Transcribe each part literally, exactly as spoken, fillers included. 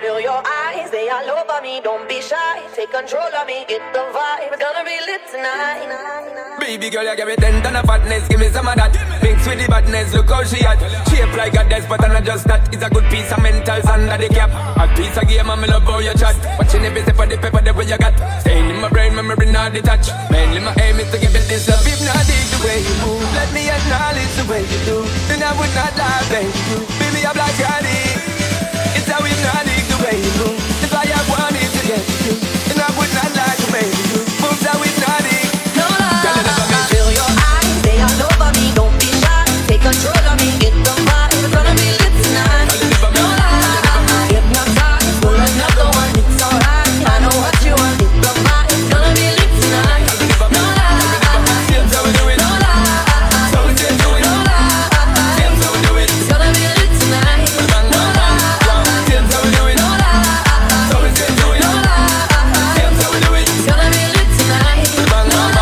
feel your eyes, they all over me. Don't be shy, take control of me, get the vibe. It's gonna be lit tonight. Baby girl, you give me ten ton of fatness, give me some of that. Mix with the badness, look how she hot. Shape like a desk, but I'm not just that. It's a good piece of mentals under the cap. A piece of game, I'm in love how you chat. Watching every step of the pepper, the way you got. Staying in my brain, memory not detached. Mainly my aim is to give it this love. If not dig the way you move, let me acknowledge the way you do. Then I would not lie, thank you. Baby, I'm like Johnny. It's how we not dig the way you move. It's why I wanted to get you. And I would not lie to make you. Moves how we not dig. No lie, feel your eyes, they all over me. Don't be shy, take control of me, get the vibe. It's gonna be lit tonight. No lie, hypnotize, pull another one, it's alright. I know what you want, get the vibe. It's gonna be lit tonight. No lie, so we do it. no lie, So we still do it. no lie. So we do it. It's gonna be lit tonight. No lie, So we do it. no lie, So we still do it. no lie. So we do it. It's gonna be lit tonight. No lie.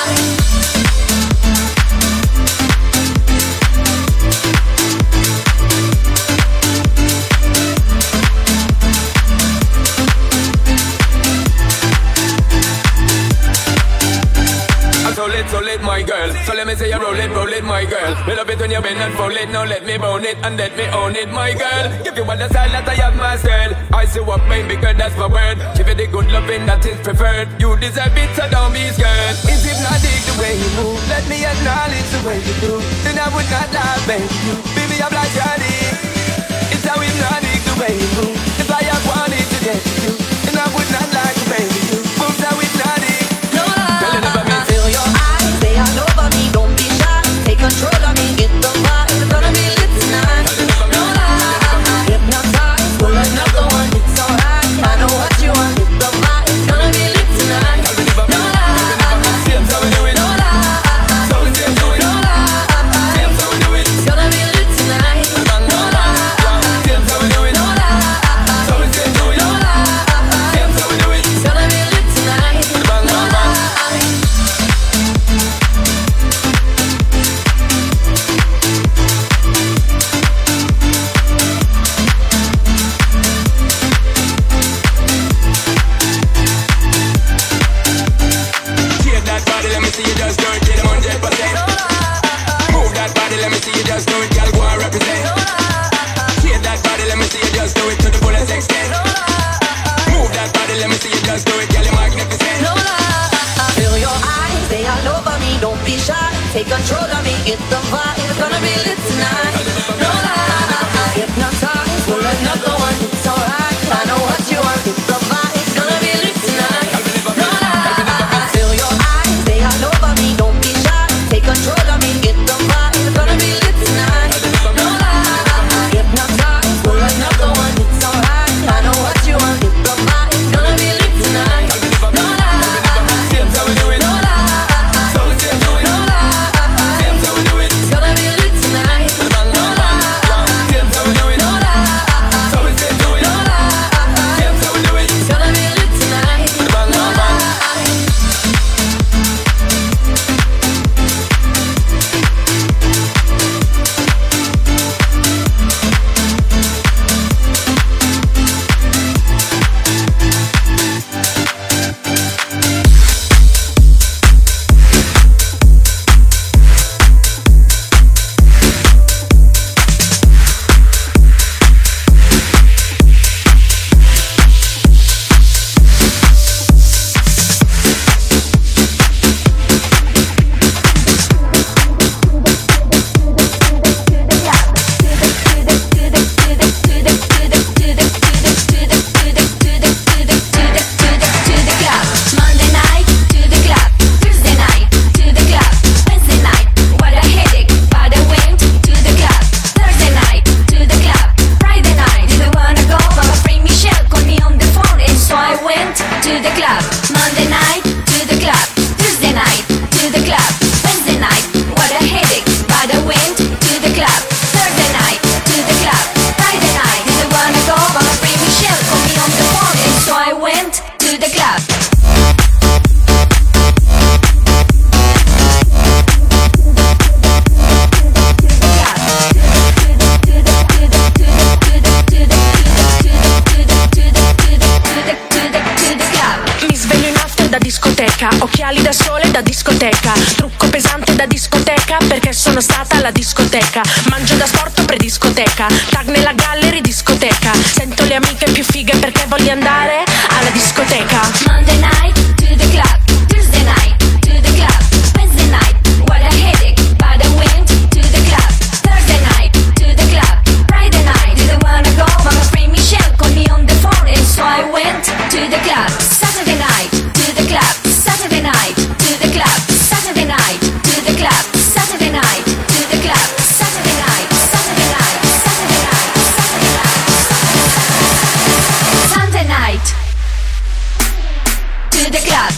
So lit, so lit, my girl. So let me say you roll it, roll it, my girl. We love it when you bend and fold it. Now let me bone it and let me own it, my girl. Give you all the style that I have mastered. I see what made me good, that's my word. Give you the good loving that is preferred. You deserve it, so don't be scared. Is it not dig the way you move? Let me acknowledge the way you do. Then I would not lie, baby. You, baby, I'm like Johnny. It's how we not dig the way you move. It's why I wanted to get you. And I would not lie to baby you. Moves how we not dig. No lie, feel your eyes, they all over me. Don't be shy, take control of me, get the vibe. It's gonna be lit tonight. No lie, hypnotize, pull another one, it's alright. I know what you want, get the vibe. It's gonna be lit tonight. No lie, So we do it. no lie, So we still do it. no lie. So we do it. It's gonna be lit tonight. No lie, So we do it. no lie, So we still do it. no lie. So we do it. It's gonna be lit tonight. No lie. Shake that body, let me see you just do it till one hundred percent. Move that body, let me see you just do it, girl, go and represent. Shake that body, let me see you just do it to the fullest extent. Move that body, let me see you just do it, girl, you're magnificent. No lie, feel your eyes, they all over me. Don't be shy, take control of me, get the vibe. It's gonna be lit tonight. No lie, hypnotize, pull another one, it's alright. I know what you want, get the vibe. It's gonna be lit tonight. No lie, feel your eyes, they all over me. Don't be shy, take control of me, get the vibe. It's gonna be lit tonight. No lie, hypnotize, pull another one, it's alright. I know what you want, get the vibe. It's gonna be lit tonight. No lie. So we do it. No lie, So we still do it. no lie. So we do it. It's gonna be lit tonight. discoteca, occhiali da sole da discoteca, trucco pesante da discoteca perché sono stata alla discoteca, mangio da sport pre-discoteca, tag nella gallery discoteca, sento le amiche più fighe perché voglio andare alla discoteca. Monday night to the club, Tuesday night to the club, Wednesday night, what a headache, but I went to the club, Thursday night to the club, Friday night, didn't wanna go, but my friend Michelle called me on the phone and so I went to the club, Saturday night to the club, Saturday night to the club, Saturday night to the club, Saturday night to the club, Saturday night, Saturday night, Saturday night, Saturday night, Sunday night to the club.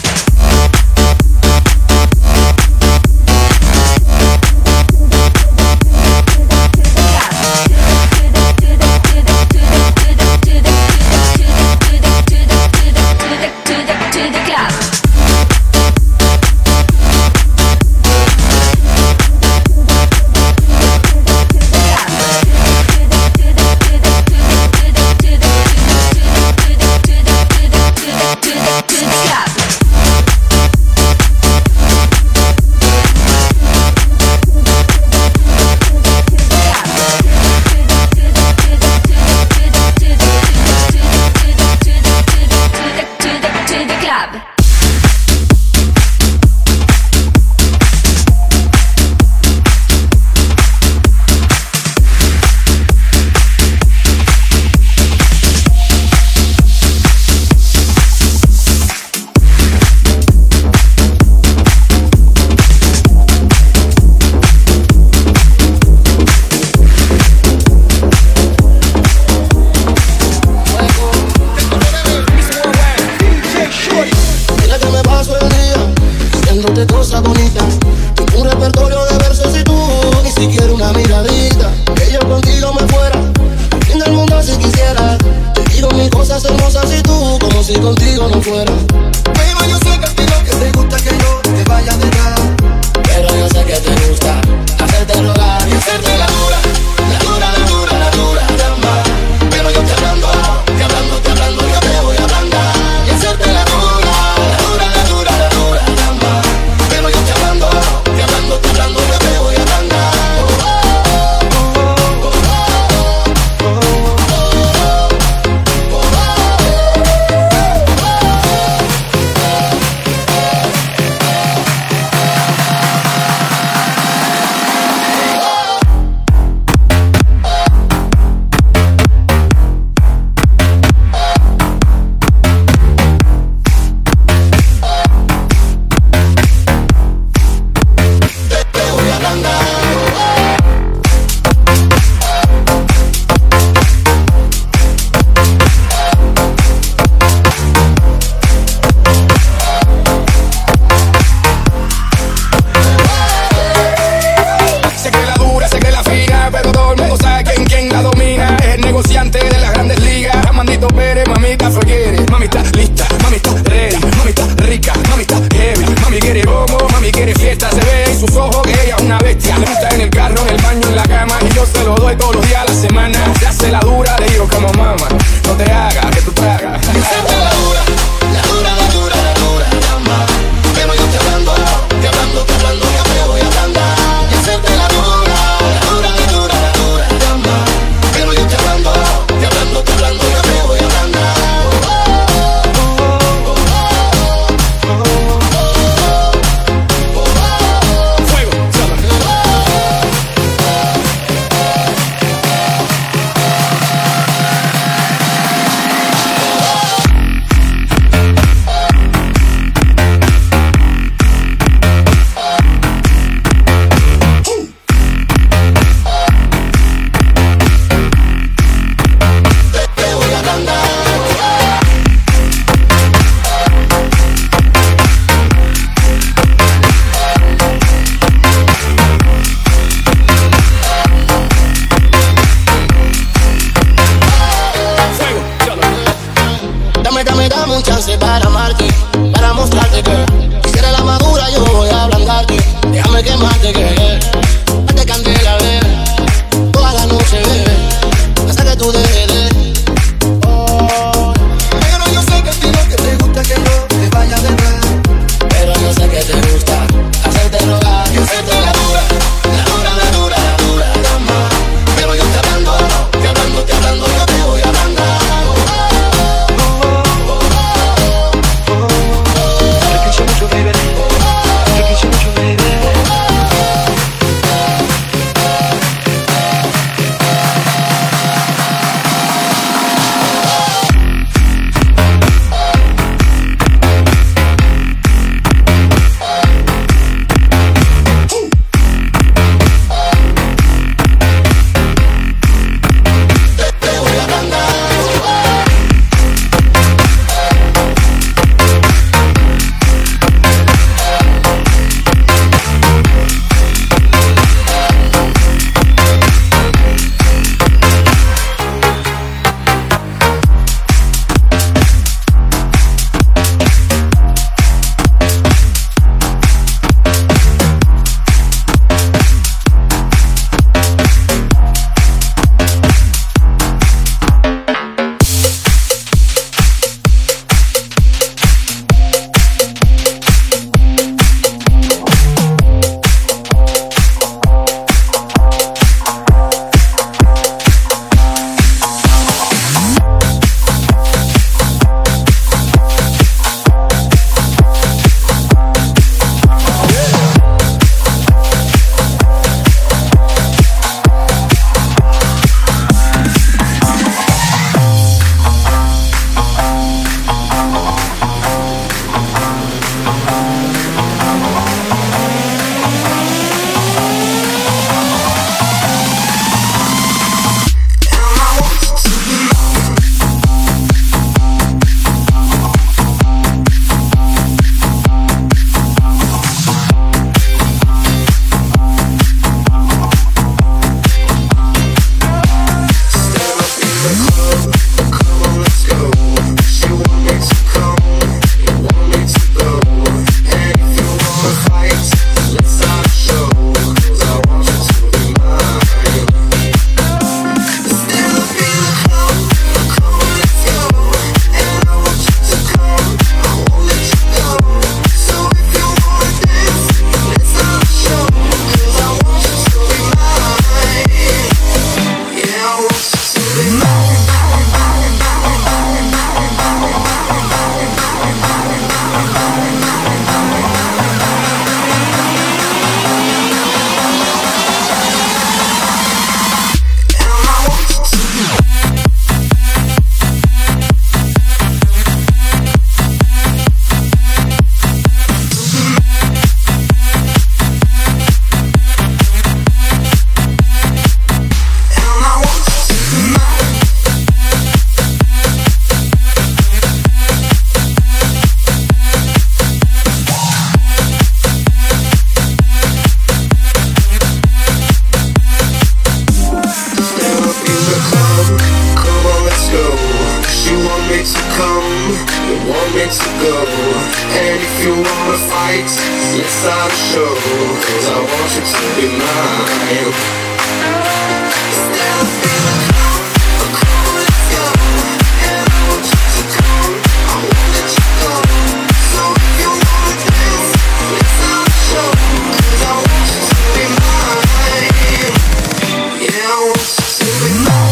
to go. And if you wanna fight, let's start a show. Cause I want you to be mine. Instead of feeling cold, oh cold, let's go. And I want you to come, I won't let you go. So if you wanna dance, let's start a show. Cause I want you to be mine. Yeah, I want you to be mine.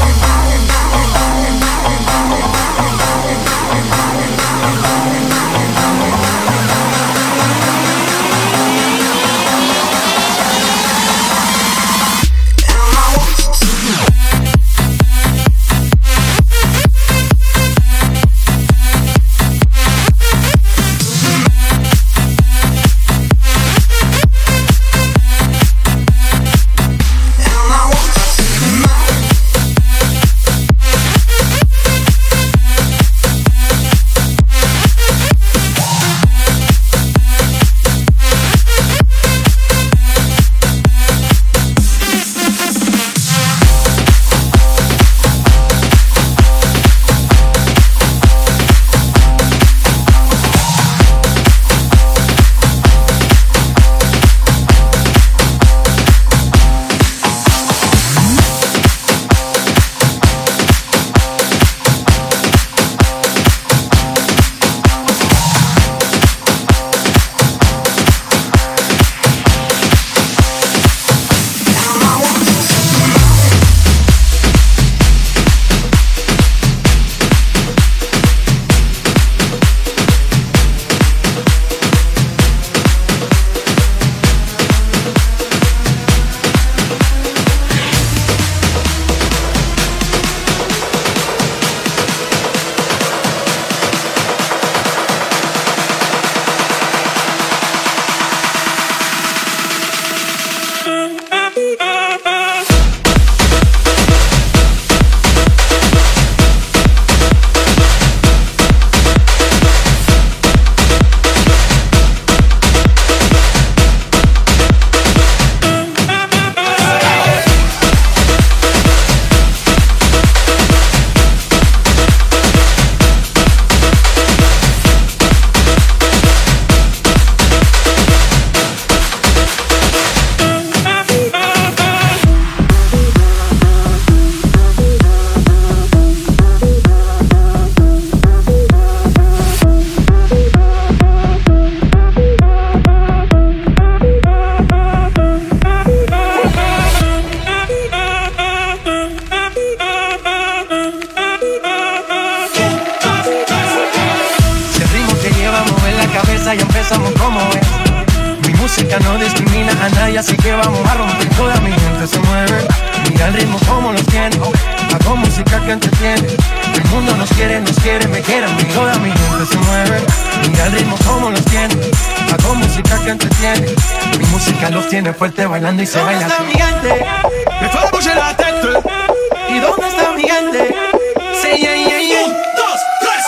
Fuerte bailando y se baila así. ¿Dónde está mi gente? Me fue a bouger la tête. ¿Y dónde está mi gente? Sí, yeah, yeah, yeah. Un, dos, tres,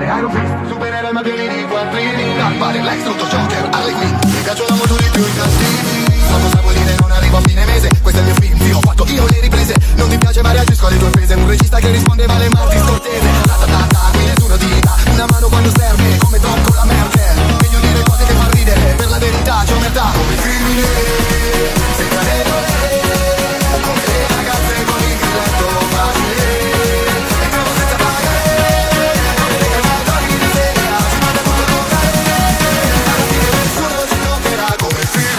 Iron Fist, supereroe ma pieni di quattrini. Dark Lex, Luthor, Joker, Harley Quinn. Mi piacciono molto di più i cattivi. So cosa vuol dire non arrivo a fine mese. Questo è il mio film, sì, ho fatto io le riprese. Non ti piace ma reagisco alle tue offese. Un regista che risponde male Martin Scorsese. Ratatata, qui nessuno ti dà una mano quando serve. Come Tom con la Merkel. Meglio dire cose che fa ridere. Per la verità c'è omertà come crimine. Senza regole. Come le ragazze con il grilletto facile. Entriamo senza pagare. Come dei calciatori di serie A. Si manda tutto a toccare. Alla fine nessuno ci toccherà come film.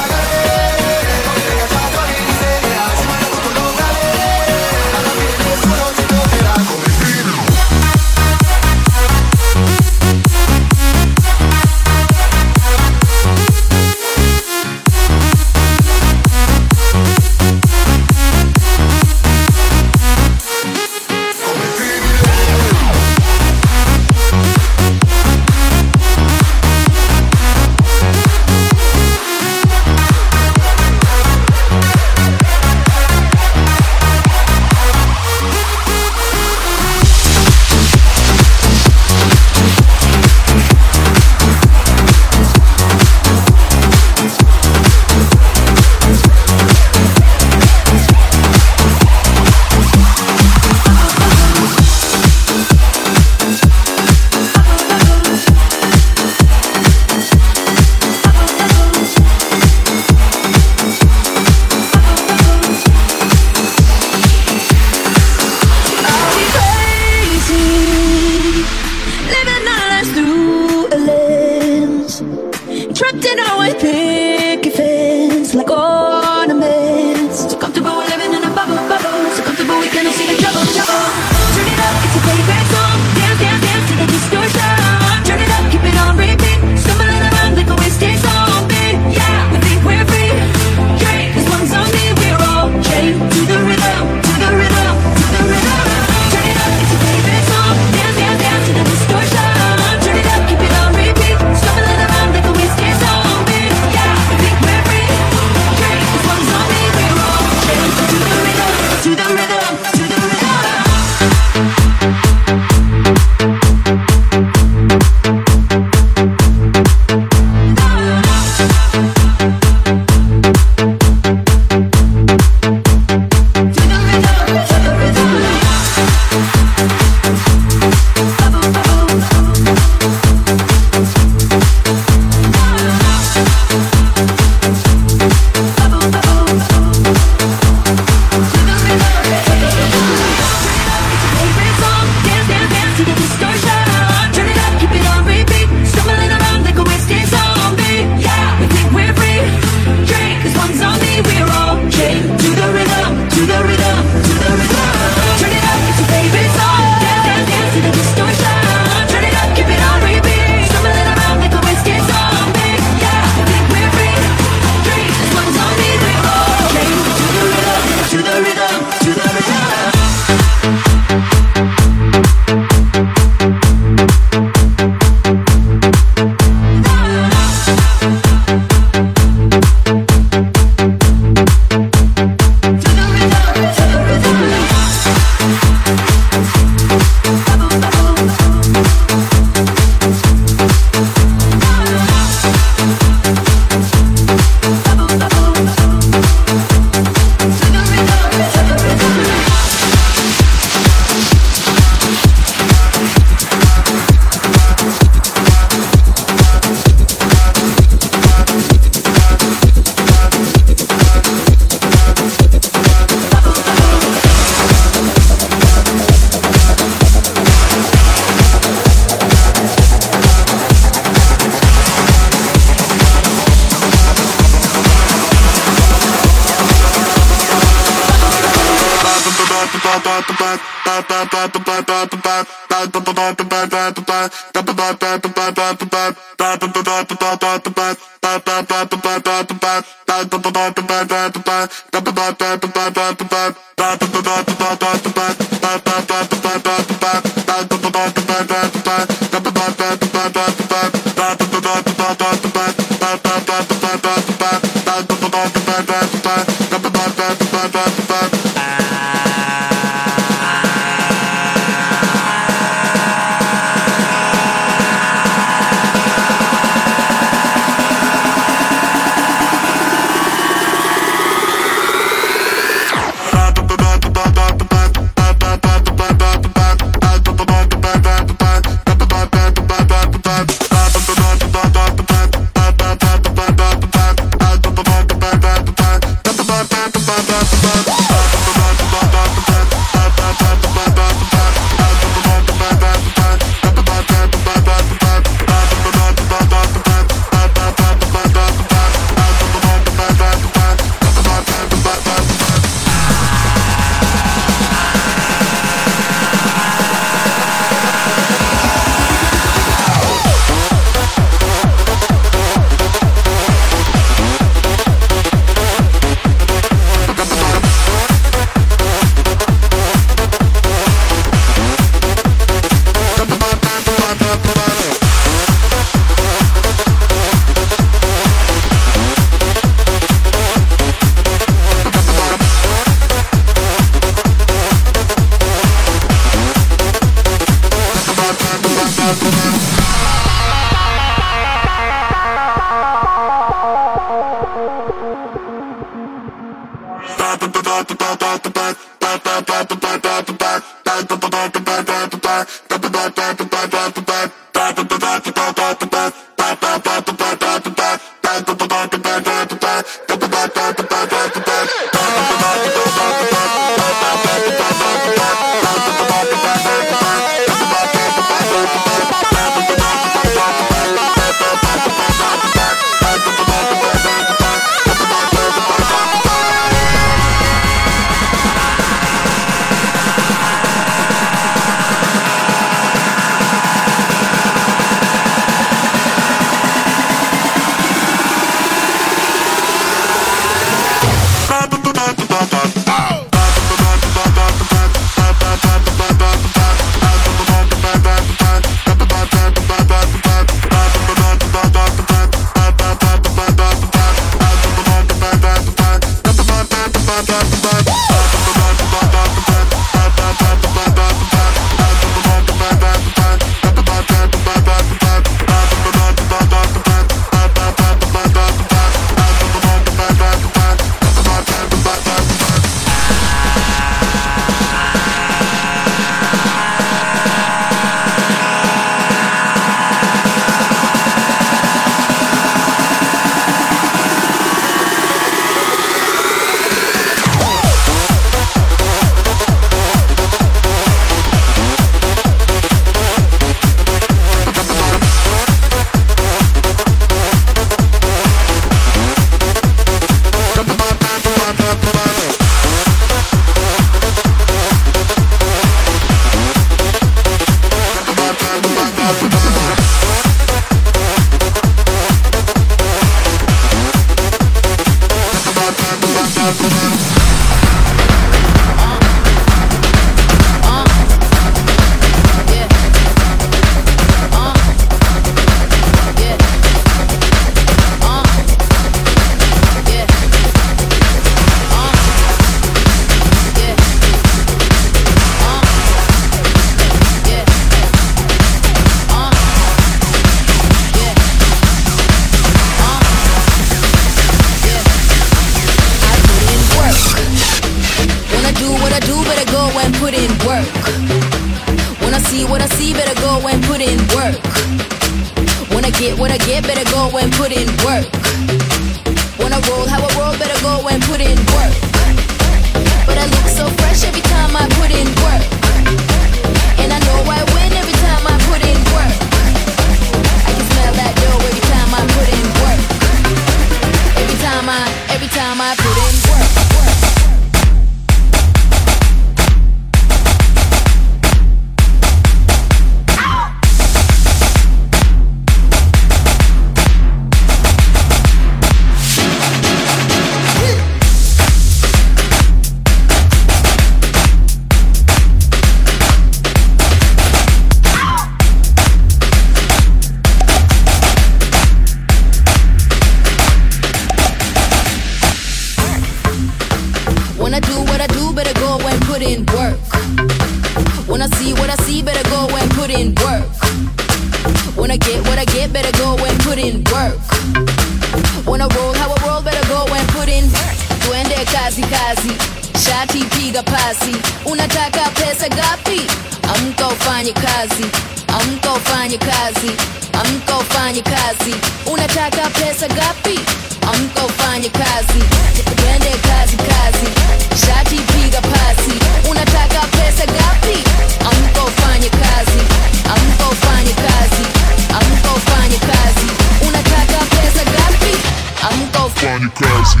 get, better go and put in work. Wanna roll, how I roll, better go and put in work. Twende kazi kazi, shati piga pasi. Unataka pesa gapi? Amka ufanye kazi, amka ufanye kazi, amka ufanye kazi. Unataka pesa gapi? Amka ufanye kazi, twende kazi kazi, shati piga pasi. Unataka pesa gapi? Amka ufanye kazi, amka ufanye kazi, amka ufanye kazi. Unataka pesa gapi? Amka ufanye kazi.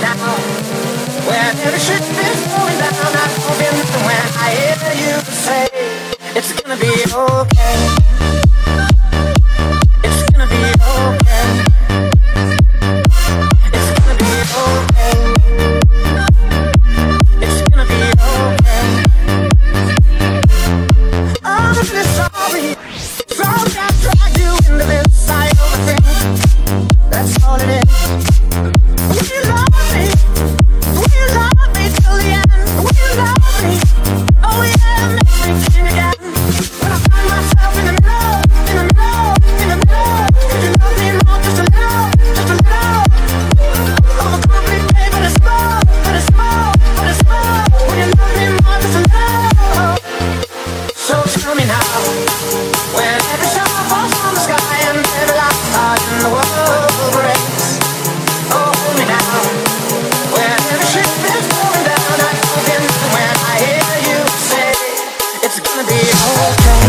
now. When every ship is going down, I'm hoping when I hear you say it's gonna be okay. It's gonna be okay. It's gonna be okay. It's gonna be okay. I'm really sorry. Sorry I dragged you into this side of the thing. That's all it is. Will you love me? Will you love me till the end? Will you love me? Oh yeah, make me king again. When I find myself in the middle, in the middle, in the middle. Could you love me more, just a little, just a little? I'm a complete babe, but it's small, but it's small, but it's small. Will you love me more, just a little? So tell me now, when every star falls from the sky and every last heart in the world breaks. Oh, hold me now, when every ship is going down, I'm hoping when I hear you say it's gonna be okay.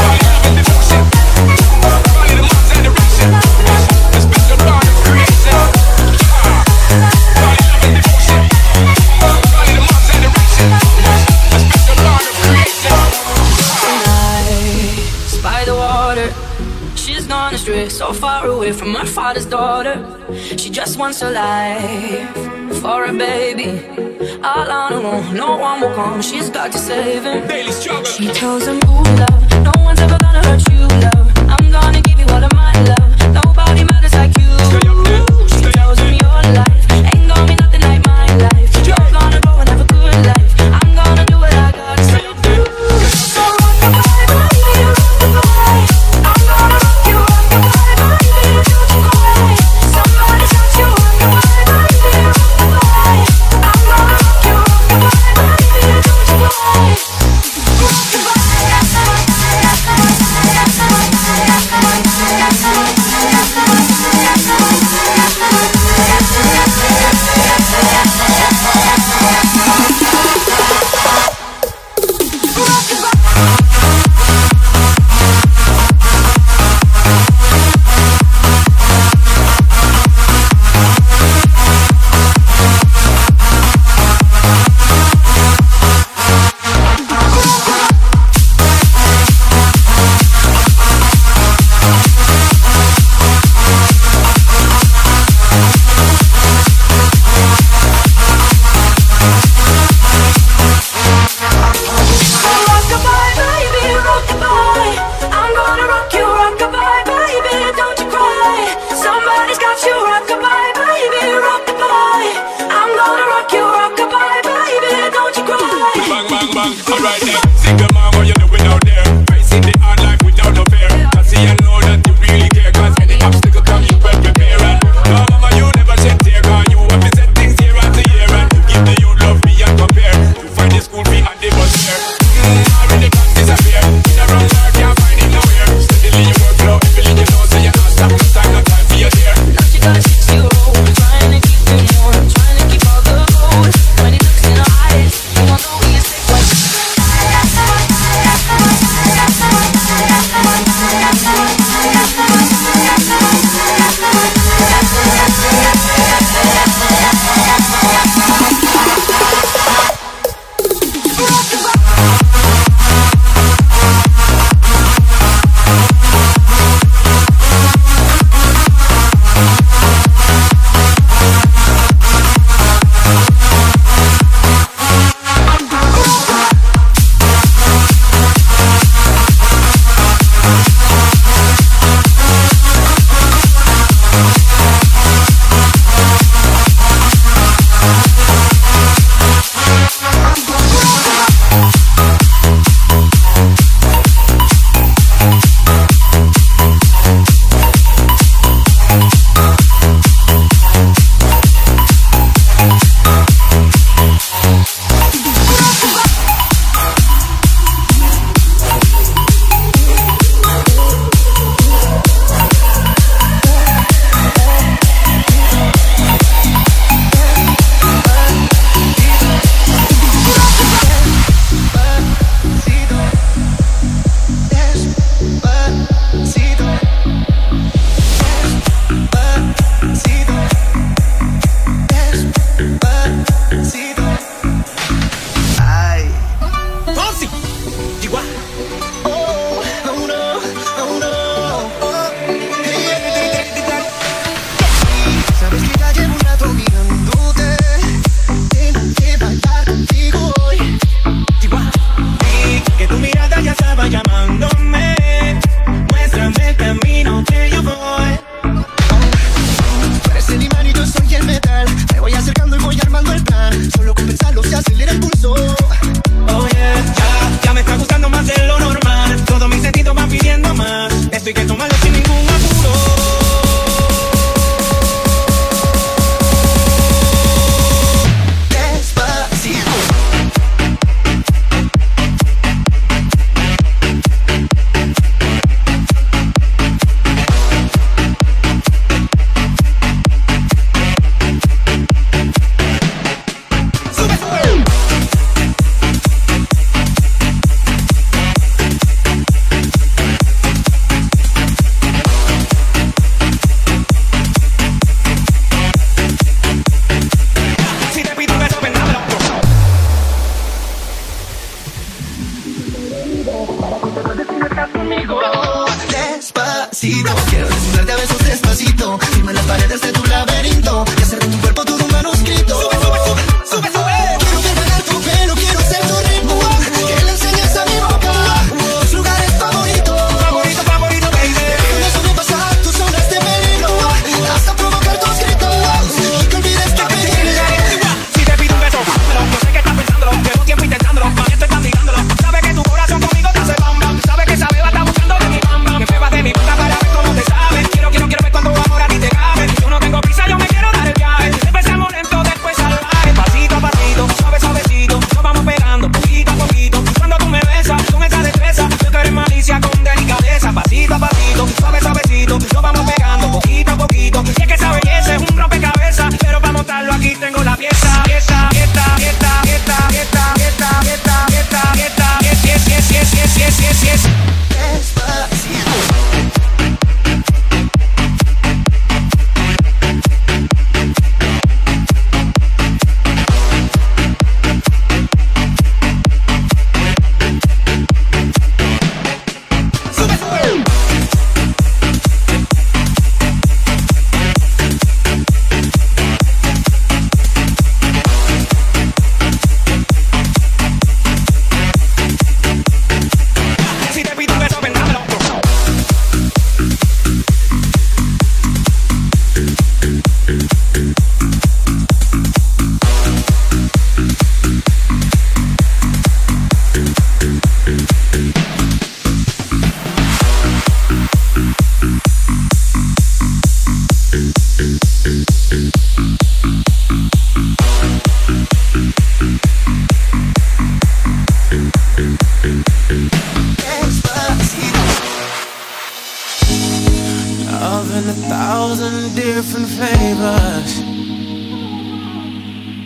By the water, she's gone astray, so far away from her father's daughter. She just wants a life for a baby, all on her own. No one will come, she's got to save him. She tells him, ooh, love, no one's ever gonna hurt you, love. I'm gonna give you all of my love. Nobody matters like you. She tells him your life ain't gonna be nothing like my life. You're gonna go and have a good life. I'm gonna do what I got to do. So rock the vibe, baby, rock the vibe. I'm gonna rock you, rock the vibe, baby, don't you cry. Somebody touch you, rock the vibe, baby, rock the vibe. I'm gonna rock you, rock the vibe, baby, don't you cry. Rock the vibe, rock the vibe, rock the vibe.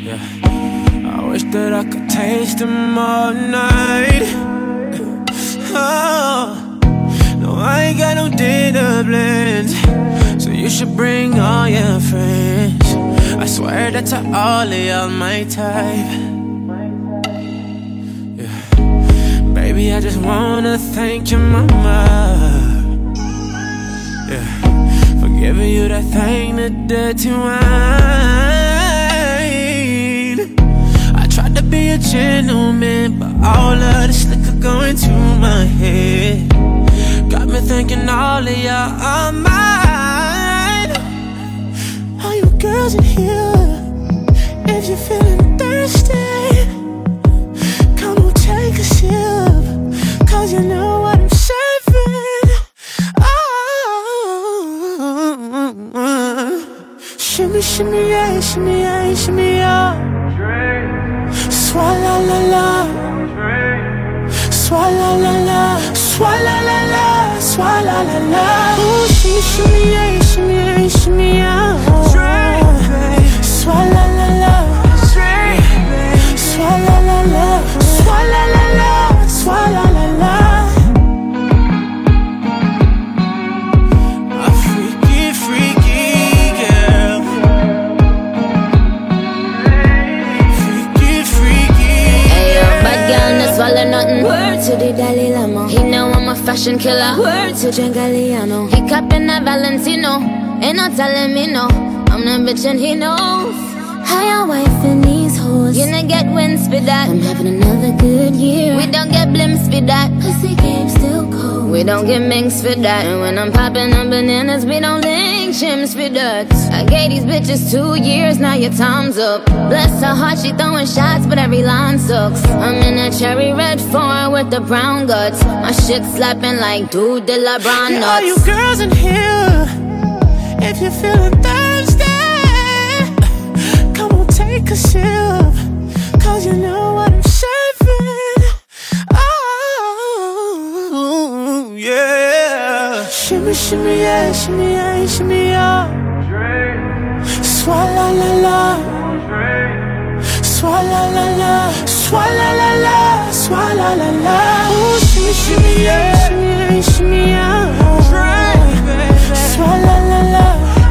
Yeah. I wish that I could taste them all night. Oh, no, I ain't got no dinner plans, so you should bring all your friends. I swear that to all of y'all my type. Yeah. Baby, I just wanna thank your mama. Yeah. For giving you that thing that dirty wine. I tried to be a gentleman, but all of this liquor going to my head got me thinking all of y'all are mine. All you girls in here, if you're feeling thirsty, come on, take a sip, cause you know what I'm serving. Oh, shimmy, shimmy, yeah, shimmy, yeah, shimmy, yeah. Swalla la la, swalla la la, swalla la la, swalla la la. Ooh, shimmy, shimmy, yeah, shimmy, yeah, shimmy, yeah. Swalla la la, swalla la la, swalla la la, swalla la la. A freaky, freaky girl. Freaky, freaky. Hey yo, bad girl, no swallow nothing. Word to the Dalai Lama. He know I'm a fashion killer. Word to Gengaliano. He cupping a Valentino. Ain't no telling me no. I'm the bitch and he knows. How your wife in these hoes. You don't get wins for that. I'm having another good year. We don't get blimps for that. Pussy game still cold. We don't get minks for that. And when I'm popping on bananas, we don't link chimps for that. I gave these bitches two years, now your time's up. Bless her heart, she throwing shots, but every line sucks. I'm in a cherry red foreign with the brown guts. My shit slapping like dude de la brown nuts. All you girls in here, if you're feeling thirsty, come on, take a sip, cause you know what I'm serving. Oh, yeah. Shimmy, shimmy, yeah, shimmy, yeah, shimmy, yeah. Swalla la la, swalla la la, swalla la la, swalla la la. Ooh, shimmy, shimmy, yeah, shimmy, yeah, shimmy, yeah. Swalla la la,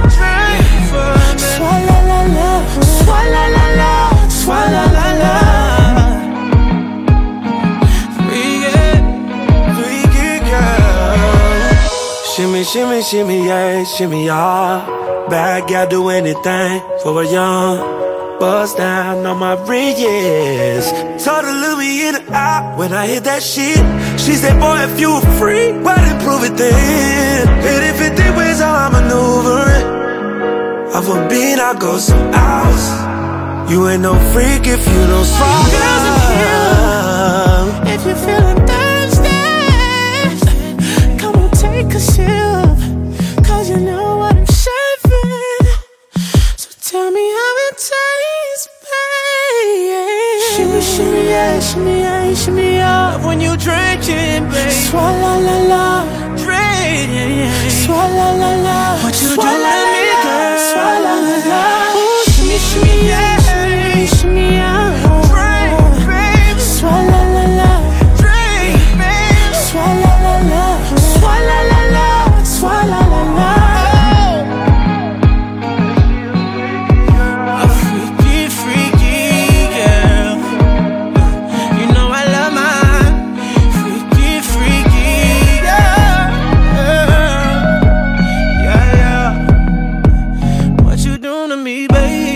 swalla la la, swalla la la, swalla la la. Freaky, freaky girl. Shimmy, shimmy, shimmy, yeah, shimmy, yeah. Bad gal do anything for a young bust down on my bridges. Told her look me in the eye when I hit that shit. She said, boy, if you were free, why didn't prove it then? Hit it fifty ways how I maneuver it. Off a beat, I go some hours. You ain't no freak if you don't swallow. If you're feeling thirsty, come on, take a sip, cause you know what I'm serving. So tell me how it tastes, babe. Shimmy, shimmy, yeah, shimmy, yeah, shimmy, yeah. Love when you drink it, babe. Swalla la la, drink, yeah, yeah. Swalla la la, what you do to me, girl? Swalla la la, ooh, shimmy, shimmy, yeah, shimmy, yeah. Drink, babe. Swalla la la, drink, babe. Swalla la la, swalla la la, swalla la la. A freaky, freaky girl. You know I love mine. Freaky, freaky girl. Yeah, yeah. What you doing to me, baby?